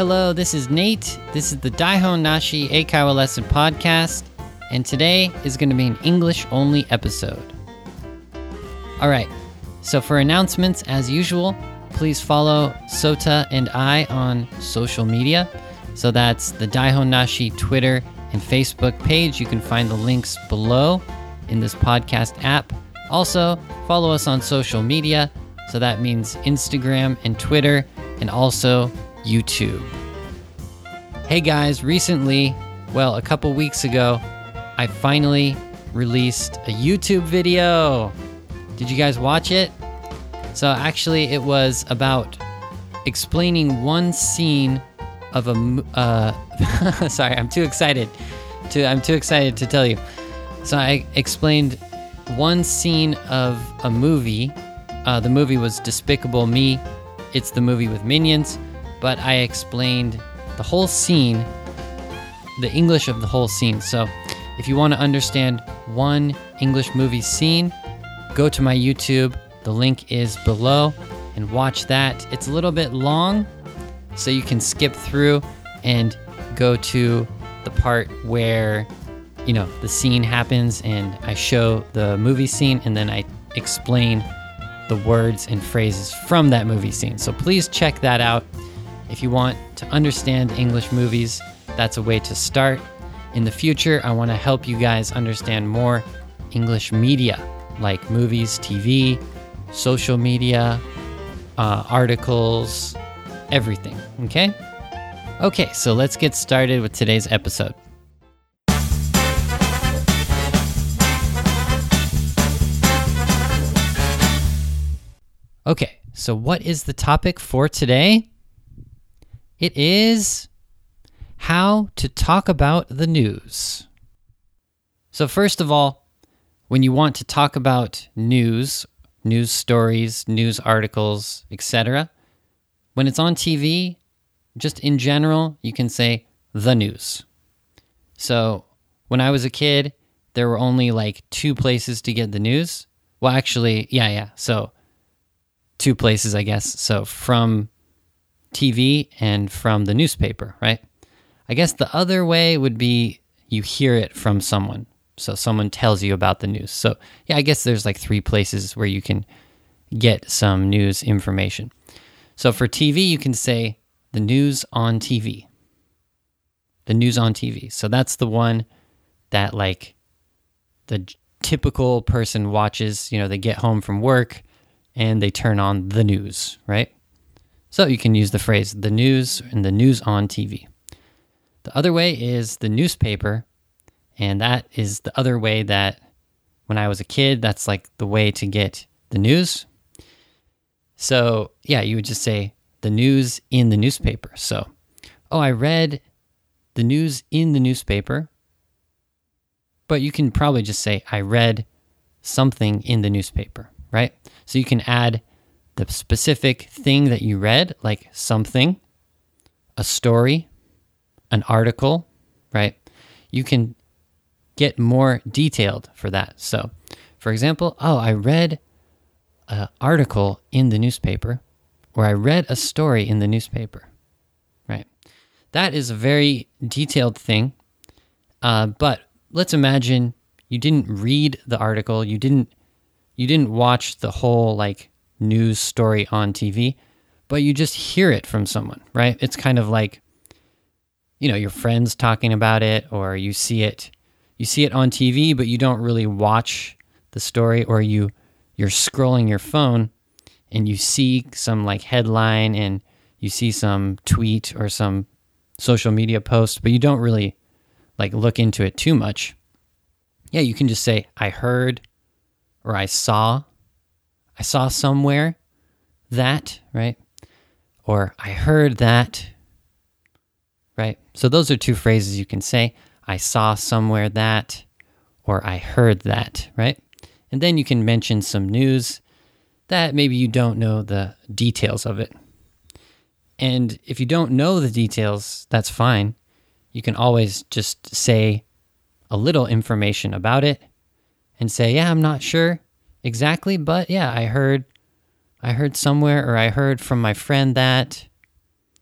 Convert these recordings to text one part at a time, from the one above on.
Hello, this is Nate. This is the Daihon Nashi Eikaiwa Lesson Podcast, and today is going to be an English-only episode. Alright, so for announcements, as usual, please follow Sota and I on social media. So that's the Daihon Nashi Twitter and Facebook page. You can find the links below in this podcast app. Also, follow us on social media. So that means Instagram and Twitter, and also YouTube. Hey guys, recently, a couple weeks ago, I finally released a YouTube video. Did you guys watch it? So actually, it was about explaining one scene of a sorry, I'm too excited to tell you. So I explained one scene of a movie. The movie was Despicable Me. It's the movie with Minions, but I explained the whole scene, the English of the whole scene. So if you want to understand one English movie scene, go to my YouTube. The link is below and watch that. It's a little bit long, so you can skip through and go to the part where, the scene happens and I show the movie scene and then I explain the words and phrases from that movie scene. So please check that out. If you want to understand English movies, that's a way to start. In the future, I want to help you guys understand more English media, like movies, TV, social media, articles, everything, okay? Okay, so let's get started with today's episode. Okay, so what is the topic for today? It is how to talk about the news. So first of all, when you want to talk about news stories, news articles, etc., when it's on TV, just in general, you can say the news. So when I was a kid, there were only like two places to get the news. Well, actually, so two places, I guess. So from TV and from the newspaper, right? I guess the other way would be you hear it from someone. So someone tells you about the news. So I guess there's like three places where you can get some news information. So for TV, you can say the news on TV. The news on TV. So that's the one that like the typical person watches. They get home from work and they turn on the news, right? So you can use the phrase the news and the news on TV. The other way is the newspaper, and that is the other way that when I was a kid, that's like the way to get the news. So you would just say the news in the newspaper. So, I read the news in the newspaper, but you can probably just say I read something in the newspaper, right? So you can add the specific thing that you read, like something, a story, an article, right? You can get more detailed for that. So, for example, I read an article in the newspaper, or I read a story in the newspaper, right? That is a very detailed thing, but let's imagine you didn't read the article, you didn't watch the whole news story on TV, but you just hear it from someone, right? It's kind of like, your friends talking about it, or you see it on TV, but you don't really watch the story, or you're scrolling your phone and you see some headline and you see some tweet or some social media post, but you don't really look into it too much. You can just say, I heard, or I saw somewhere that, right? Or I heard that, right? So those are two phrases you can say. I saw somewhere that, or I heard that, right? And then you can mention some news that maybe you don't know the details of it. And if you don't know the details, that's fine. You can always just say a little information about it and say, I'm not sure exactly, but I heard somewhere, or I heard from my friend that.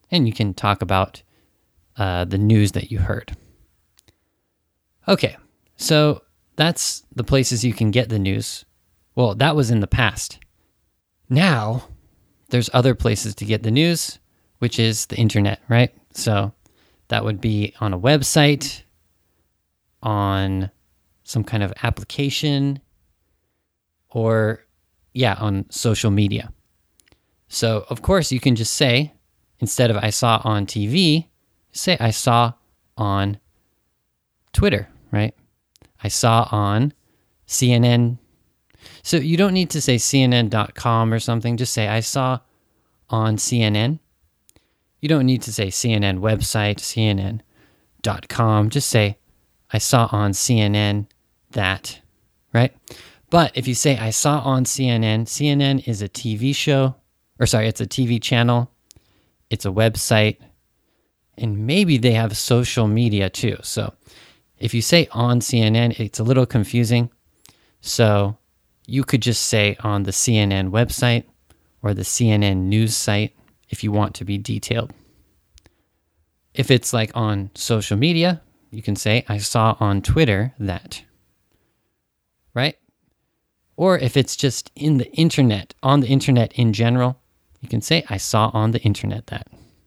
and you can talk about the news that you heard. Okay, so that's the places you can get the news. Well, that was in the past. Now, there's other places to get the news, which is the internet, right? So that would be on a website, on some kind of application, or on social media. So, of course, you can just say, instead of I saw on TV, say I saw on Twitter, right? I saw on CNN. So you don't need to say CNN.com or something. Just say I saw on CNN. You don't need to say CNN website, CNN.com. Just say I saw on CNN that, right? But if you say I saw on CNN, CNN is a TV show, it's a TV channel. It's a website. And maybe they have social media too. So if you say on CNN, it's a little confusing. So you could just say on the CNN website or the CNN news site if you want to be detailed. If it's like on social media, you can say I saw on Twitter that, right? Or if it's just in the internet, on the internet in general, you can say I saw on the internet that.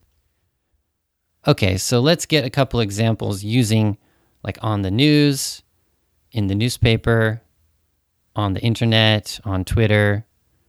Okay, so let's get a couple examples using like on the news, in the newspaper, on the internet, on Twitter.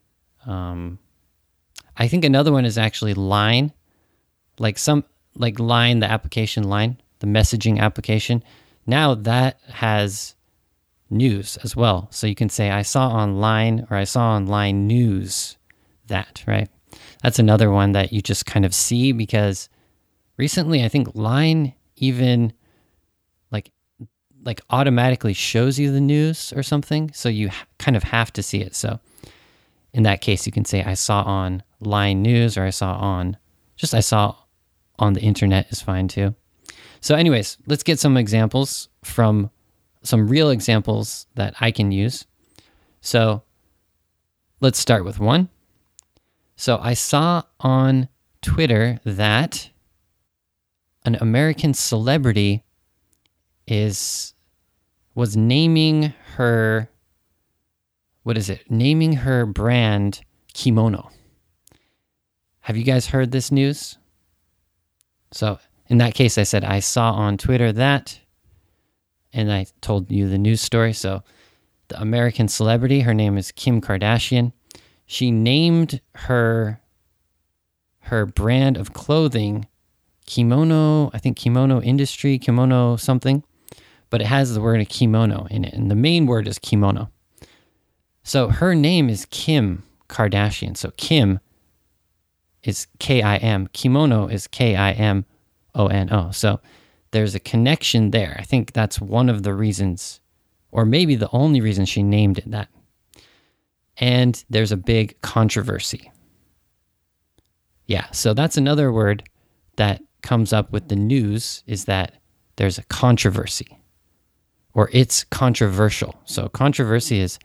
I think another one is actually Line, like Line, the application Line, the messaging application. Now that has news as well. So you can say I saw on Line or I saw on Line News that, right? That's another one that you just kind of see because recently I think Line even like automatically shows you the news or something. So you kind of have to see it. So in that case, you can say I saw on Line News or I saw on the internet is fine too. So anyways, let's get some examples from some real examples that I can use. So let's start with one. So I saw on Twitter that an American celebrity was naming her, naming her brand Kimono. Have you guys heard this news? So in that case, I said I saw on Twitter that, and I told you the news story. So the American celebrity, her name is Kim Kardashian. She named her brand of clothing Kimono, I think Kimono Industry, Kimono something, but it has the word kimono in it, and the main word is kimono. So her name is Kim Kardashian. So Kim is K-I-M, kimono is K-I-M-O-N-O. So there's a connection there. I think that's one of the reasons, or maybe the only reason she named it that. And there's a big controversy. Yeah, so that's another word that comes up with the news, is that there's a controversy, or it's controversial. So controversy is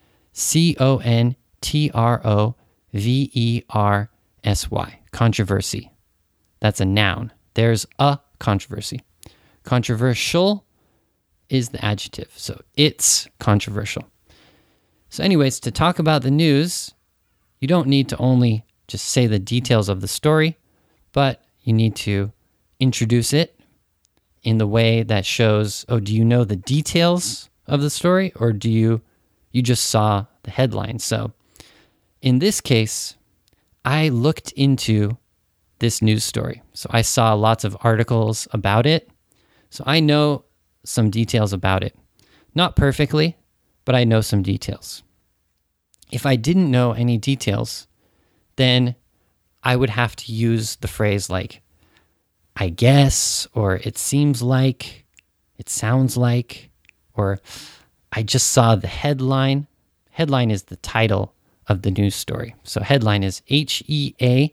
C-O-N-T-R-O-V-E-R-S-Y, controversy. That's a noun. There's a controversy. Controversial is the adjective. So it's controversial. So anyways, to talk about the news, you don't need to only just say the details of the story, but you need to introduce it in the way that shows, do you know the details of the story, or do you just saw the headline? So in this case, I looked into this news story. So I saw lots of articles about it. So I know some details about it. Not perfectly, but I know some details. If I didn't know any details, then I would have to use the phrase like, I guess, or it seems like, it sounds like, or I just saw the headline. Headline is the title of the news story. So headline is Headline.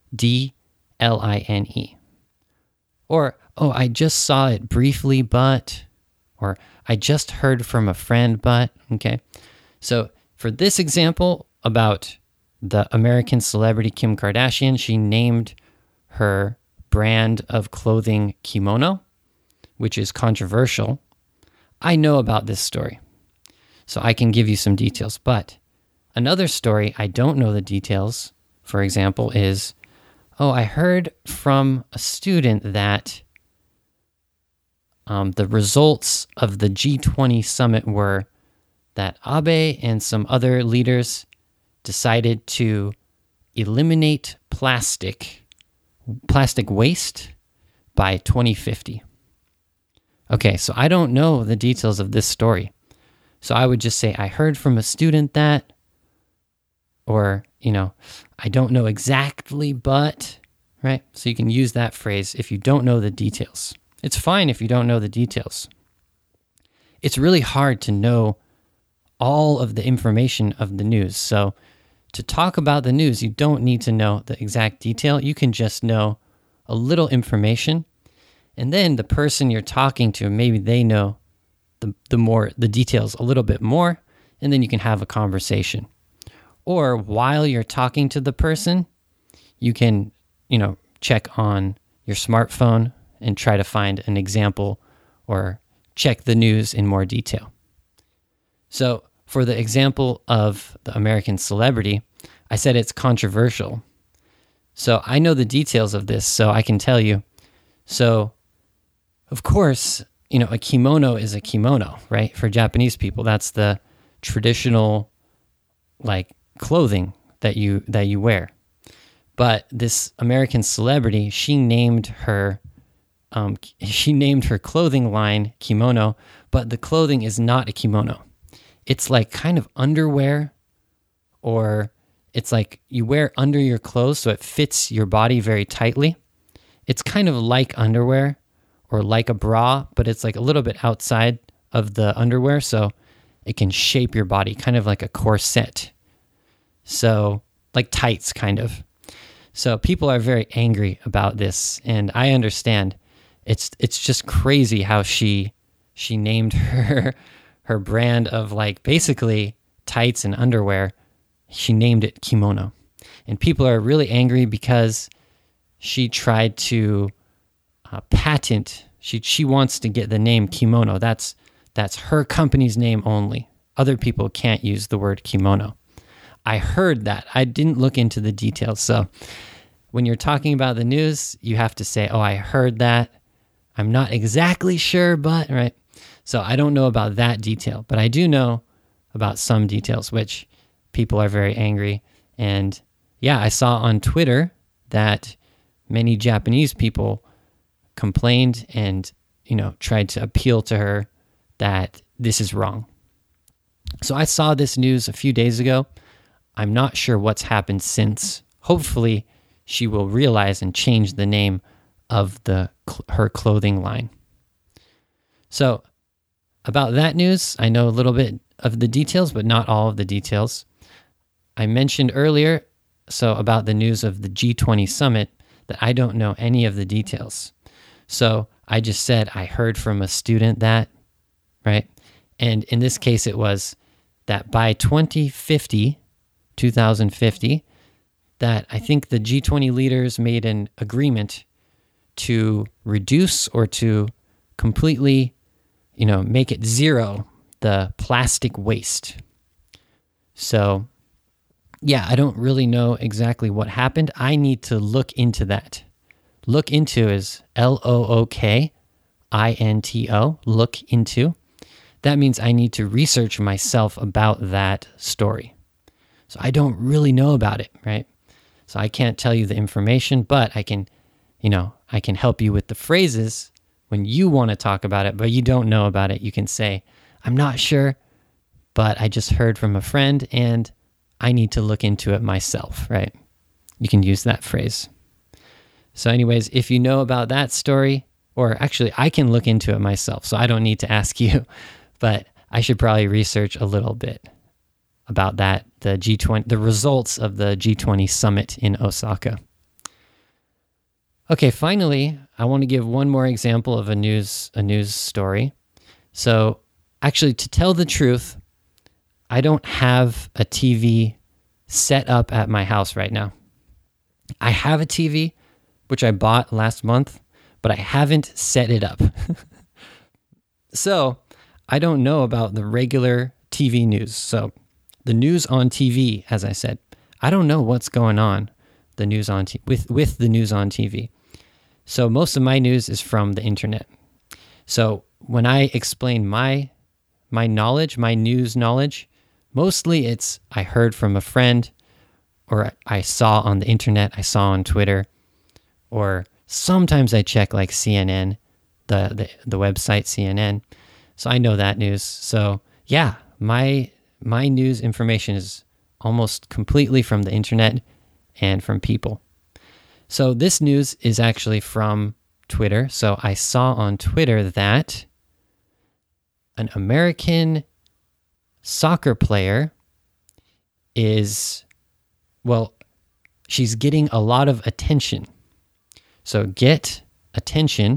Or, I just saw it briefly, but, or I just heard from a friend, but, okay. So for this example about the American celebrity Kim Kardashian, she named her brand of clothing kimono, which is controversial. I know about this story, so I can give you some details. But another story I don't know the details, for example, is, I heard from a student that the results of the G20 summit were that Abe and some other leaders decided to eliminate plastic waste by 2050. Okay, so I don't know the details of this story. So I would just say, I heard from a student that, or, I don't know exactly, but, right? So you can use that phrase if you don't know the details. It's fine if you don't know the details. It's really hard to know all of the information of the news. So to talk about the news, you don't need to know the exact detail. You can just know a little information. And then the person you're talking to, maybe they know the details a little bit more, and then you can have a conversation. Or while you're talking to the person, you can, check on your smartphone and try to find an example or check the news in more detail. So for the example of the American celebrity, I said it's controversial. So I know the details of this, so I can tell you. So, of course, a kimono is a kimono, right? For Japanese people, that's the traditional, clothing that you wear. But this American celebrity, she named her clothing line kimono, but the clothing is not a kimono. It's like kind of underwear, or it's like you wear under your clothes so it fits your body very tightly. It's kind of like underwear or like a bra, but it's like a little bit outside of the underwear, so it can shape your body, kind of like a corset. So, like tights, kind of. So people are very angry about this, and I understand. It's just crazy how she named her brand of basically tights and underwear. She named it kimono. And people are really angry because she tried to patent. She wants to get the name kimono. That's her company's name only. Other people can't use the word kimono. I heard that. I didn't look into the details. So when you're talking about the news, you have to say, I heard that. I'm not exactly sure, but, right? So I don't know about that detail, but I do know about some details, which people are very angry. And yeah, I saw on Twitter that many Japanese people complained and, tried to appeal to her that this is wrong. So I saw this news a few days ago. I'm not sure what's happened since. Hopefully, she will realize and change the name of her clothing line. So, about that news, I know a little bit of the details, but not all of the details. I mentioned earlier, about the news of the G20 summit, that I don't know any of the details. So, I just said I heard from a student that, right? And in this case, it was that by 2050, that I think the G20 leaders made an agreement to reduce or to completely, make it zero, the plastic waste. So, yeah, I don't really know exactly what happened. I need to look into that. Look into is LOOKINTO, look into. That means I need to research myself about that story. So I don't really know about it, right? So I can't tell you the information, but I can help you with the phrases when you want to talk about it, but you don't know about it. You can say, I'm not sure, but I just heard from a friend and I need to look into it myself, right? You can use that phrase. So anyways, if you know about that story, or actually I can look into it myself, so I don't need to ask you, but I should probably research a little bit about that, the results of the G20 summit in Osaka. Okay, finally, I want to give one more example of a news story. So, actually, to tell the truth, I don't have a TV set up at my house right now. I have a TV, which I bought last month, but I haven't set it up. So I don't know about the regular TV news. So the news on TV, as I said, I don't know what's going on the news on with the news on TV. So most of my news is from the internet. So when I explain my knowledge, my news knowledge, mostly it's I heard from a friend, or I saw on the internet, I saw on Twitter, or sometimes I check like CNN, the website CNN. So I know that news. So yeah, my news information is almost completely from the internet and from people. So this news is actually from Twitter. So I saw on Twitter that an American soccer player she's getting a lot of attention. So get attention,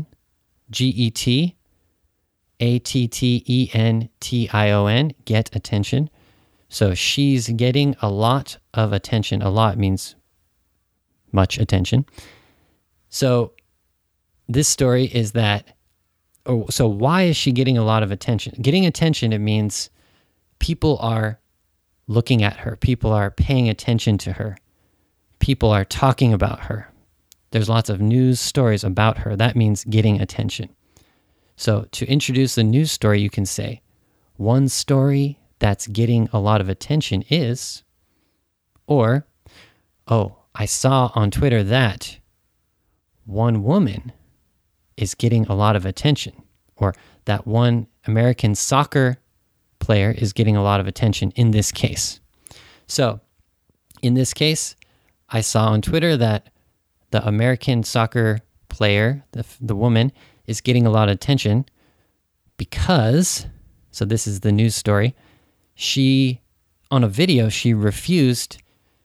GETATTENTION, get attention. So she's getting a lot of attention. A lot means much attention. So this story is that, so why is she getting a lot of attention? Getting attention, it means people are looking at her. People are paying attention to her. People are talking about her. There's lots of news stories about her. That means getting attention. So to introduce the news story, you can say, one story that's getting a lot of attention is, or, oh, I saw on Twitter that one woman is getting a lot of attention, or that one American soccer player is getting a lot of attention in this case. So in this case, I saw on Twitter that the American soccer player, the woman, is getting a lot of attention because, so this is the news story, on a video, she refused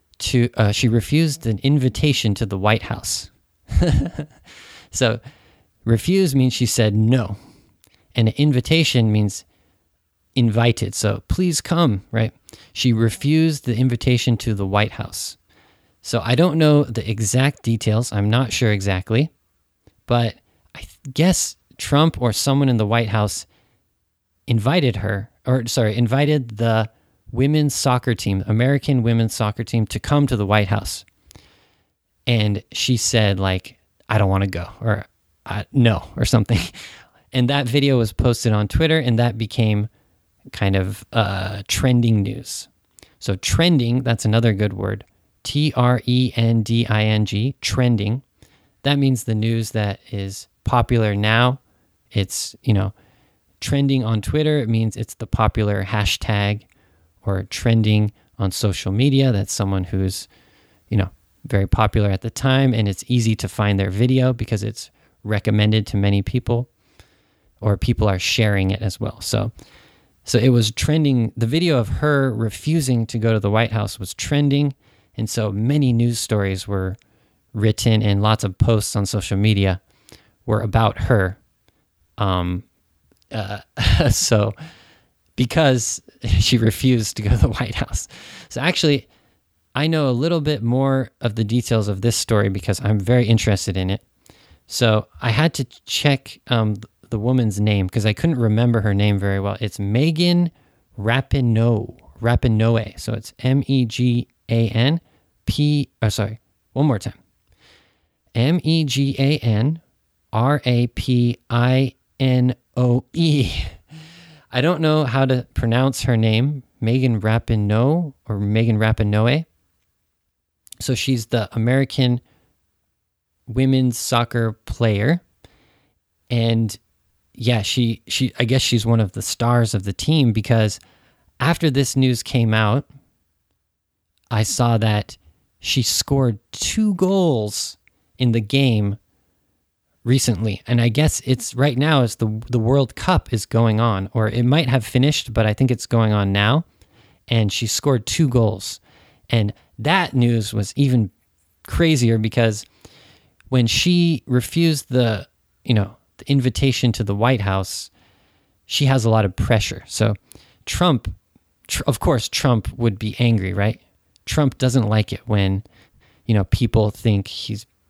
an invitation to the White House. So refuse means she said no. And an invitation means invited. So please come, right? She refused the invitation to the White House. So I don't know the exact details. I'm not sure exactly. But I guess Trump or someone in the White House invited the women's soccer team, American women's soccer team, to come to the White House. And she said, like, I don't want to go, or no, or something. And that video was posted on Twitter, and that became kind of trending news. So trending, that's another good word. TRENDING, trending. That means the news that is popular now. It's, trending on Twitter. It means it's the popular hashtag, or trending on social media. That's someone who's, very popular at the time, and it's easy to find their video because it's recommended to many people, or people are sharing it as well. So it was trending. The video of her refusing to go to the White House was trending, and so many news stories were written and lots of posts on social media were about her. So because she refused to go to the White House. So actually, I know a little bit more of the details of this story because I'm very interested in it. So I had to check the woman's name because I couldn't remember her name very well. It's Megan Rapinoe. So it's MEGAN P. Oh, sorry. One more time. MEGAN RAPINOE. I don't know how to pronounce her name, Megan Rapinoe or Megan Rapinoe. So she's the American women's soccer player. And yeah, she I guess she's one of the stars of the team because after this news came out, I saw that she scored 2 goals in the game recently. And I guess it's right now as the World Cup is going on, or it might have finished, but I think it's going on now. And she scored 2 goals. And that news was even crazier because when she refused the invitation to the White House, she has a lot of pressure. So of course, Trump would be angry, right? Trump doesn't like it when, people think he's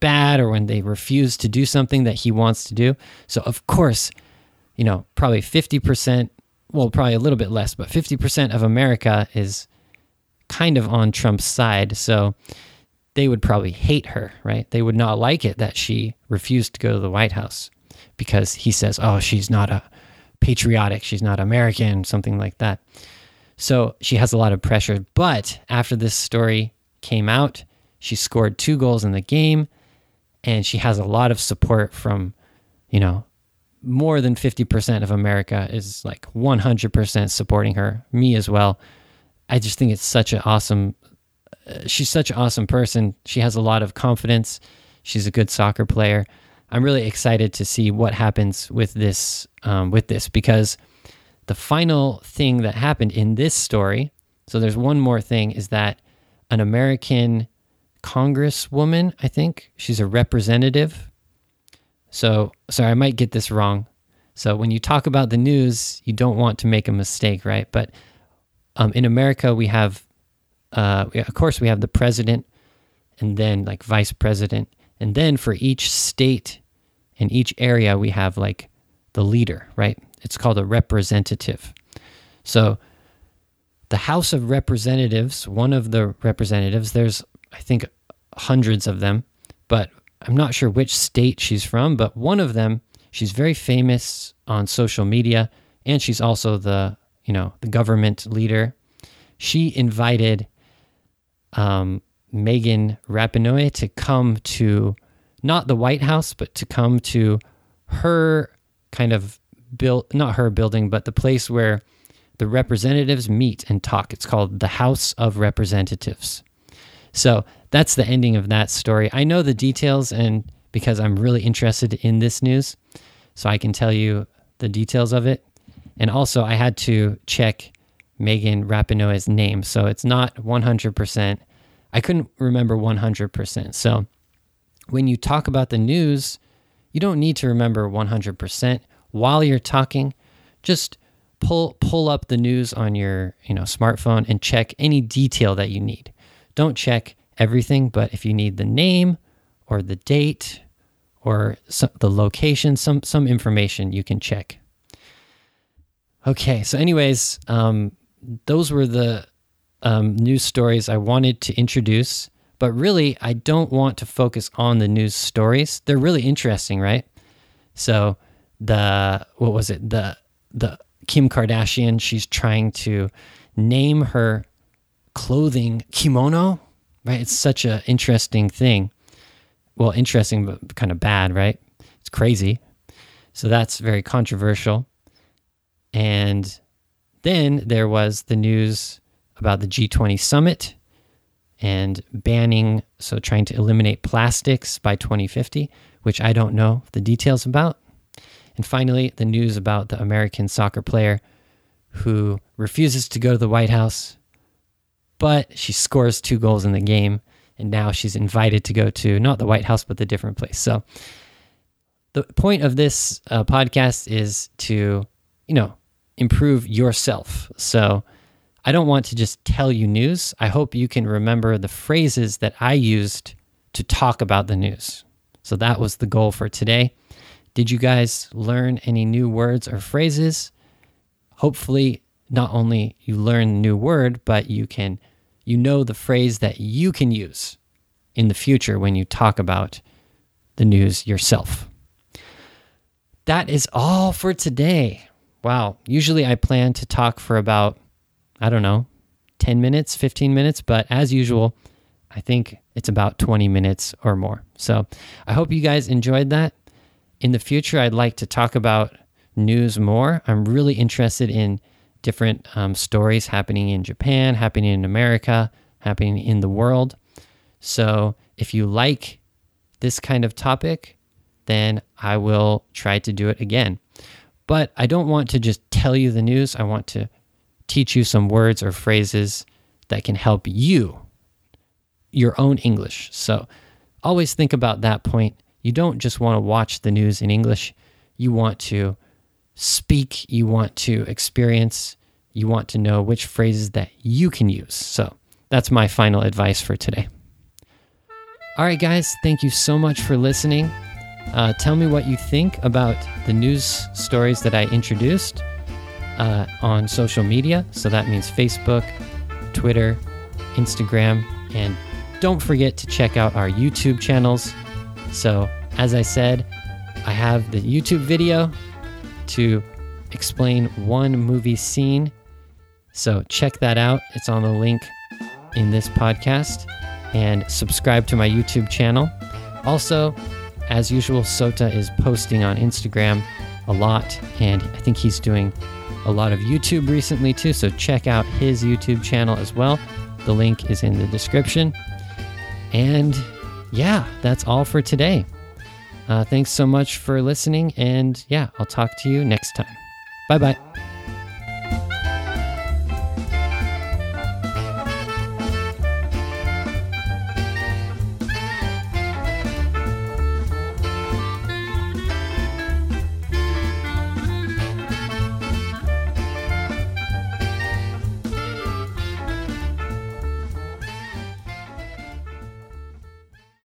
bad or when they refuse to do something that he wants to do. So of course, probably 50%, well, probably a little bit less, but 50% of America is kind of on Trump's side. So they would probably hate her, right? They would not like it that she refused to go to the White House because he says, oh, she's not a patriotic, she's not American, something like that. So she has a lot of pressure. But after this story came out, she scored 2 goals in the game, and she has a lot of support from, more than 50% of America is like 100% supporting her, me as well. I just think it's such an awesome, she's such an awesome person. She has a lot of confidence. She's a good soccer player. I'm really excited to see what happens with this, because the final thing that happened in this story, so there's one more thing, is that an American congresswoman, I think, she's a representative. So, sorry, I might get this wrong. So when you talk about the news, you don't want to make a mistake, right? But in America, we have, of course, we have the president and then like vice president. And then for each state and each area, we have like the leader, right? It's called a representative. So the House of Representatives, one of the representatives, there's, I think, hundreds of them, but I'm not sure which state she's from, but one of them, she's very famous on social media, and she's also the government leader. She invited Megan Rapinoe to come to, not the White House, but to come to her kind of not her building, but the place where the representatives meet and talk. It's called the House of Representatives. So that's the ending of that story. I know the details, and because I'm really interested in this news, so I can tell you the details of it. And also I had to check Megan Rapinoe's name. So it's not 100%. I couldn't remember 100%. So when you talk about the news, you don't need to remember 100%. While you're talking, just pull up the news on your smartphone and check any detail that you need. Don't check everything, but if you need the name or the date or the location, some information, you can check. Okay, so anyways, those were the news stories I wanted to introduce, but really I don't want to focus on the news stories. They're really interesting, right? So the Kim Kardashian, she's trying to name her clothing kimono, right? It's such an interesting thing. Well, interesting, but kind of bad, right? It's crazy. So that's very controversial. And then there was the news about the G20 summit and banning, so trying to eliminate plastics by 2050, which I don't know the details about. And finally, the news about the American soccer player who refuses to go to the White House, but she scores 2 goals in the game, and now she's invited to go to not the White House, but the different place. So the point of this podcast is to, improve yourself. So I don't want to just tell you news. I hope you can remember the phrases that I used to talk about the news. So that was the goal for today. Did you guys learn any new words or phrases? Hopefully, not only you learn a new word, but you know the phrase that you can use in the future when you talk about the news yourself. That is all for today. Wow. Usually I plan to talk for about, 10 minutes, 15 minutes, but as usual, I think it's about 20 minutes or more. So I hope you guys enjoyed that. In the future, I'd like to talk about news more. I'm really interested in different stories happening in Japan, happening in America, happening in the world. So if you like this kind of topic, then I will try to do it again. But I don't want to just tell you the news. I want to teach you some words or phrases that can help you, your own English. So always think about that point. You don't just want to watch the news in English. You want to speak, you want to experience, you want to know which phrases that you can use. So that's my final advice for today. All right, guys, thank you so much for listening. Tell me what you think about the news stories that I introduced on social media. So that means Facebook, Twitter, Instagram, and don't forget to check out our YouTube channels. So as I said, I have the YouTube video to explain one movie scene. So check that out. It's on the link in this podcast. And subscribe to my YouTube channel. Also, as usual, Sota is posting on Instagram a lot, and I think he's doing a lot of YouTube recently too, so check out his YouTube channel as well. The link is in the description. And yeah, that's all for today. Thanks so much for listening, and yeah, I'll talk to you next time. Bye-bye.